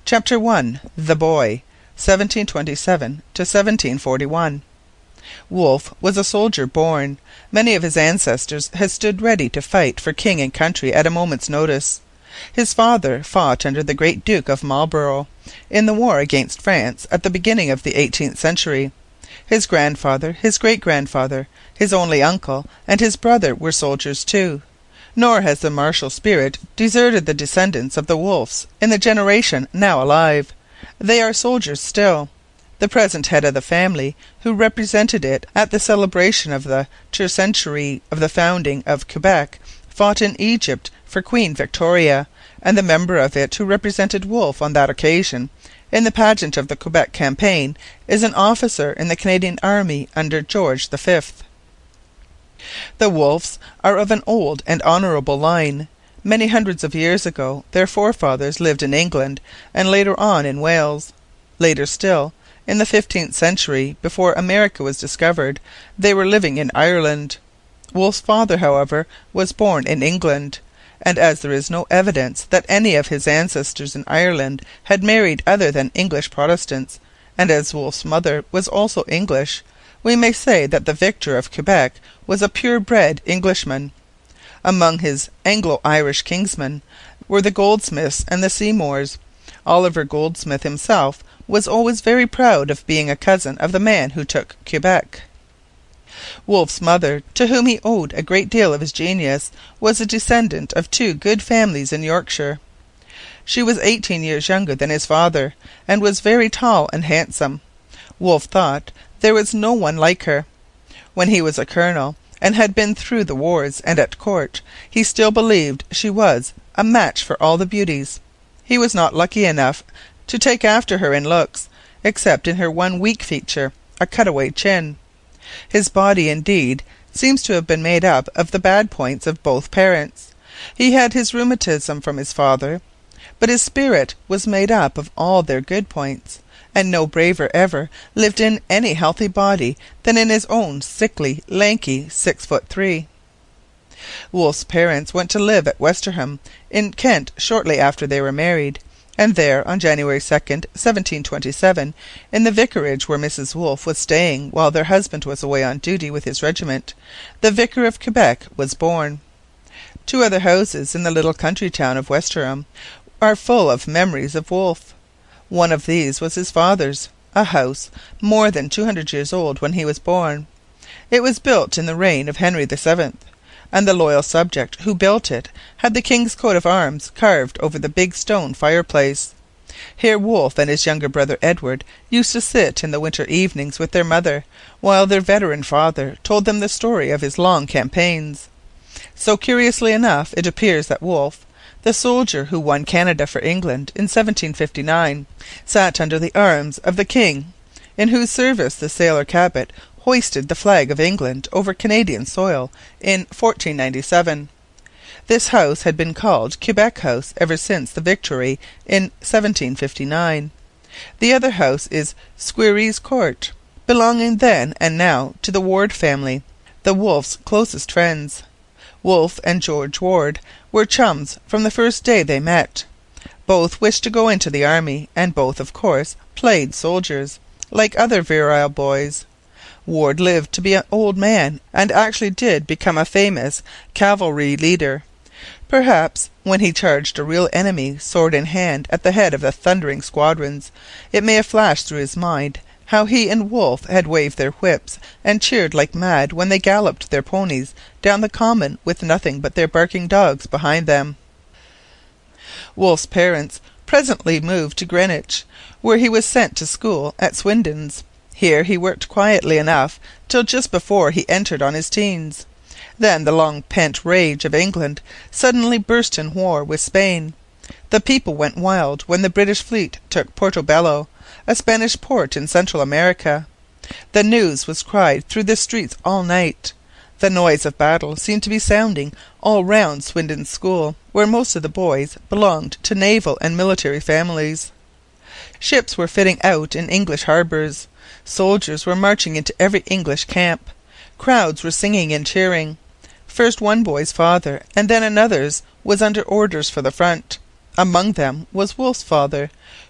CHAPTER I. The Boy, 1727 to 1741. Wolfe was a soldier born. Many of his ancestors had stood ready to fight for king and country at a moment's notice. His father fought under the great Duke of Marlborough in the war against France at the beginning of the 18th century. His grandfather, his great-grandfather, his only uncle, and his brother were soldiers too. Nor has the martial spirit deserted the descendants of the Wolfes in the generation now alive. They are soldiers still. The present head of the family, who represented it at the celebration of the tercentenary of the founding of Quebec, fought in Egypt for Queen Victoria, and the member of it who represented Wolfe on that occasion in the pageant of the Quebec campaign is an officer in the Canadian Army under George V. The Wolfes are of an old and honourable line. Many hundreds of years ago their forefathers lived in England, and later on in Wales. Later still, in the 15th century, before America was discovered, they were living in Ireland. Wolfe's father, however, was born in England, and as there is no evidence that any of his ancestors in Ireland had married other than English Protestants, and as Wolfe's mother was also English, we may say that the victor of Quebec was a pure-bred Englishman. Among his Anglo-Irish kinsmen were the Goldsmiths and the Seymours. Oliver Goldsmith himself was always very proud of being a cousin of the man who took Quebec. Wolfe's mother, to whom he owed a great deal of his genius, was a descendant of two good families in Yorkshire. She was 18 years younger than his father, and was very tall and handsome. Wolfe thought there was no one like her. When he was a colonel, and had been through the wars and at court, he still believed she was a match for all the beauties. He was not lucky enough to take after her in looks, except in her one weak feature, a cutaway chin. His body, indeed, seems to have been made up of the bad points of both parents. He had his rheumatism from his father, but his spirit was made up of all their good points, and no braver ever lived in any healthy body than in his own sickly, lanky 6'3". Wolfe's parents went to live at Westerham in Kent shortly after they were married, and there, on January 2nd, 1727, in the vicarage where Mrs. Wolfe was staying while their husband was away on duty with his regiment, the Vicar of Quebec was born. Two other houses in the little country town of Westerham are full of memories of Wolfe. One of these was his father's, a house more than 200 years old when he was born. It was built in the reign of Henry VII, and the loyal subject who built it had the king's coat of arms carved over the big stone fireplace. Here Wolfe and his younger brother Edward used to sit in the winter evenings with their mother, while their veteran father told them the story of his long campaigns. So curiously enough it appears that Wolfe, the soldier who won Canada for England in 1759, sat under the arms of the king, in whose service the sailor Cabot hoisted the flag of England over Canadian soil in 1497. This house had been called Quebec House ever since the victory in 1759. The other house is Squerryes Court, belonging then and now to the Ward family, the Wolfes' closest friends. Wolfe and George Ward were chums from the first day they met. Both wished to go into the army, and both, of course, played soldiers, like other virile boys. Ward lived to be an old man, and actually did become a famous cavalry leader. Perhaps, when he charged a real enemy sword in hand at the head of the thundering squadrons, it may have flashed through his mind how he and Wolfe had waved their whips and cheered like mad when they galloped their ponies down the common with nothing but their barking dogs behind them. Wolfe's parents presently moved to Greenwich, where he was sent to school at Swinden's. Here he worked quietly enough till just before he entered on his teens. Then the long-pent rage of England suddenly burst in war with Spain. The people went wild when the British fleet took Portobello, a Spanish port in Central America. The news was cried through the streets all night. The noise of battle seemed to be sounding all round Swinden's school, where most of the boys belonged to naval and military families. Ships were fitting out in English harbours. Soldiers were marching into every English camp. Crowds were singing and cheering. First one boy's father and then another's was under orders for the front. Among them was Wolfe's father,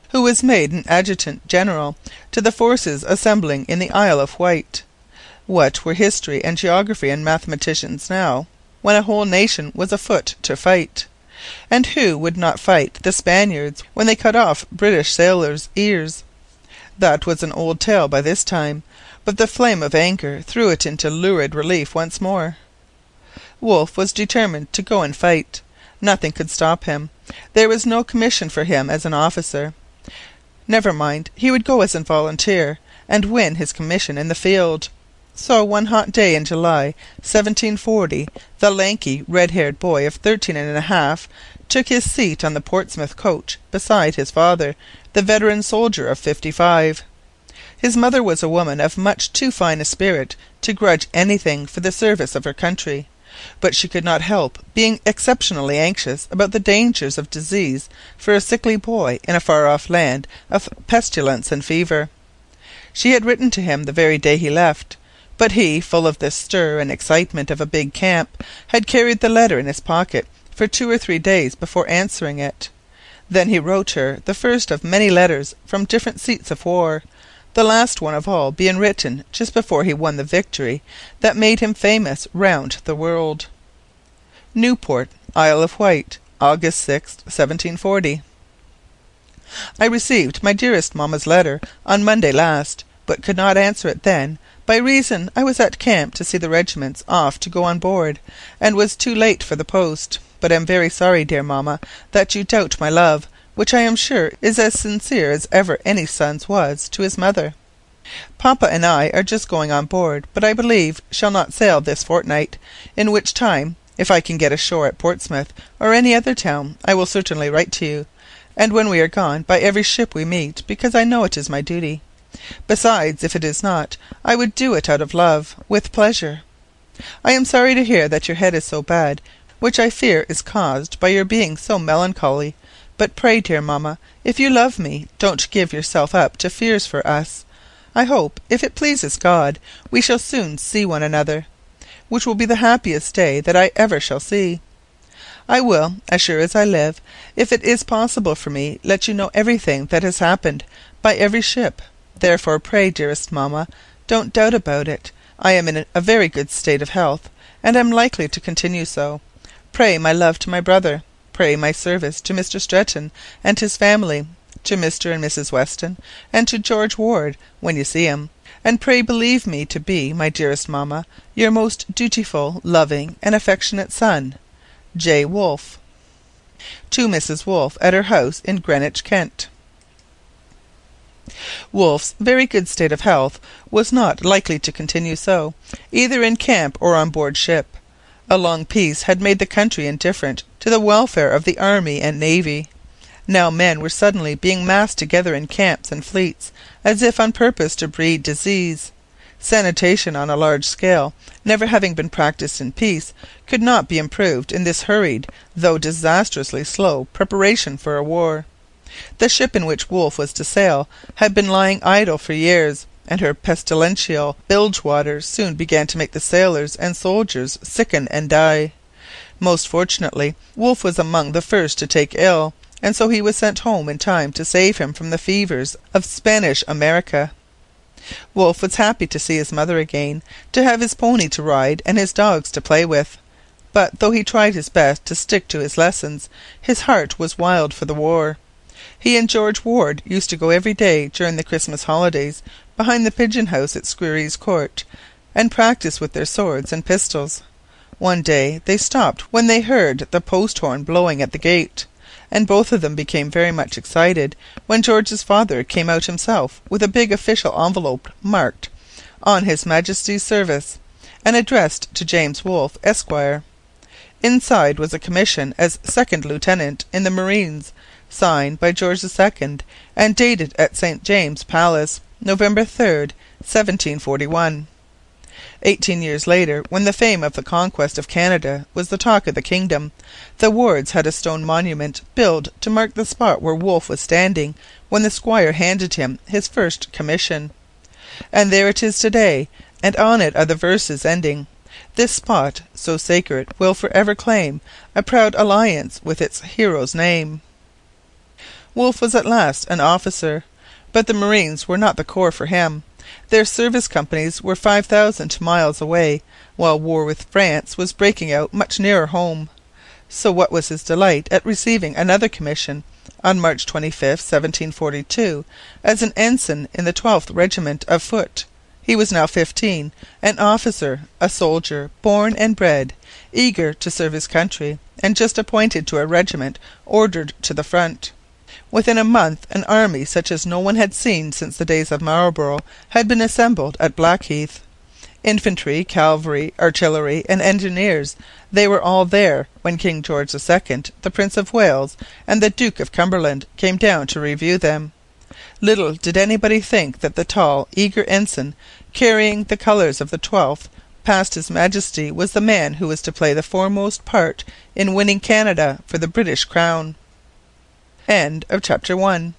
who was made an adjutant general to the forces assembling in the Isle of Wight. What were history and geography and mathematicians now, when a whole nation was afoot to fight? And who would not fight the Spaniards when they cut off British sailors' ears? That was an old tale by this time, but the flame of anger threw it into lurid relief once more. Wolfe was determined to go and fight. Nothing could stop him. There was no commission for him as an officer. Never mind, he would go as a volunteer, and win his commission in the field. So one hot day in July 1740 the lanky, red-haired boy of 13 and a half took his seat on the Portsmouth coach beside his father, the veteran soldier of 55. His mother was a woman of much too fine a spirit to grudge anything for the service of her country, but she could not help being exceptionally anxious about the dangers of disease for a sickly boy in a far-off land of pestilence and fever. She had written to him the very day he left, but he, full of the stir and excitement of a big camp, had carried the letter in his pocket for 2 or 3 days before answering it. Then he wrote her the first of many letters from different seats of war, the last one of all being written just before he won the victory that made him famous round the world. Newport, Isle of Wight, August 6, 1740. I received my dearest mamma's letter on Monday last, but could not answer it then, by reason I was at camp to see the regiments off to go on board, and was too late for the post. But am very sorry, dear mamma, that you doubt my love, which I am sure is as sincere as ever any son's was to his mother. Papa and I are just going on board, but I believe shall not sail this fortnight, in which time, if I can get ashore at Portsmouth or any other town, I will certainly write to you, and when we are gone, by every ship we meet, because I know it is my duty. Besides, if it is not, I would do it out of love, with pleasure. I am sorry to hear that your head is so bad, which I fear is caused by your being so melancholy. But pray, dear mamma, if you love me, don't give yourself up to fears for us. I hope, if it pleases God, we shall soon see one another, which will be the happiest day that I ever shall see. I will, as sure as I live, if it is possible for me, let you know everything that has happened by every ship. Therefore pray, dearest mamma, don't doubt about it. I am in a very good state of health, and am likely to continue so. Pray my love to my brother. Pray my service to Mr. Stretton and his family, to Mr. and Mrs. Weston, and to George Ward when you see him. And pray believe me to be, my dearest mamma, your most dutiful, loving, and affectionate son, J. Wolfe. To Mrs. Wolfe, at her house in Greenwich, Kent. Wolfe's very good state of health was not likely to continue so, either in camp or on board ship. A long peace had made the country indifferent to the welfare of the army and navy. Now men were suddenly being massed together in camps and fleets, as if on purpose to breed disease. Sanitation on a large scale, never having been practised in peace, could not be improved in this hurried, though disastrously slow, preparation for a war. The ship in which Wolfe was to sail had been lying idle for years, and her pestilential bilge-water soon began to make the sailors and soldiers sicken and die. Most fortunately, Wolfe was among the first to take ill, and so he was sent home in time to save him from the fevers of Spanish America. Wolfe was happy to see his mother again, to have his pony to ride and his dogs to play with. But though he tried his best to stick to his lessons, his heart was wild for the war. He and George Ward used to go every day during the Christmas holidays behind the pigeon-house at Squerryes Court, and practise with their swords and pistols. One day they stopped when they heard the post-horn blowing at the gate, and both of them became very much excited when George's father came out himself with a big official envelope marked "On His Majesty's Service," and addressed to James Wolfe, Esquire. Inside was a commission as second lieutenant in the Marines, signed by George II, and dated at St. James's Palace, November 3rd, 1741. 18 years later, when the fame of the conquest of Canada was the talk of the kingdom, the Wards had a stone monument built to mark the spot where Wolfe was standing when the squire handed him his first commission. And there it is today, and on it are the verses ending, "This spot, so sacred, will for ever claim a proud alliance with its hero's name." Wolfe was at last an officer. But the Marines were not the corps for him. Their service companies were 5,000 miles away, while war with France was breaking out much nearer home. So what was his delight at receiving another commission, on March 25, 1742, as an ensign in the 12th Regiment of Foot. He was now 15, an officer, a soldier, born and bred, eager to serve his country, and just appointed to a regiment ordered to the front. Within a month an army such as no one had seen since the days of Marlborough had been assembled at Blackheath. Infantry, cavalry, artillery, and engineers, they were all there when King George II, the Prince of Wales, and the Duke of Cumberland came down to review them. Little did anybody think that the tall, eager ensign, carrying the colours of the 12th, past His Majesty, was the man who was to play the foremost part in winning Canada for the British crown. End of chapter 1.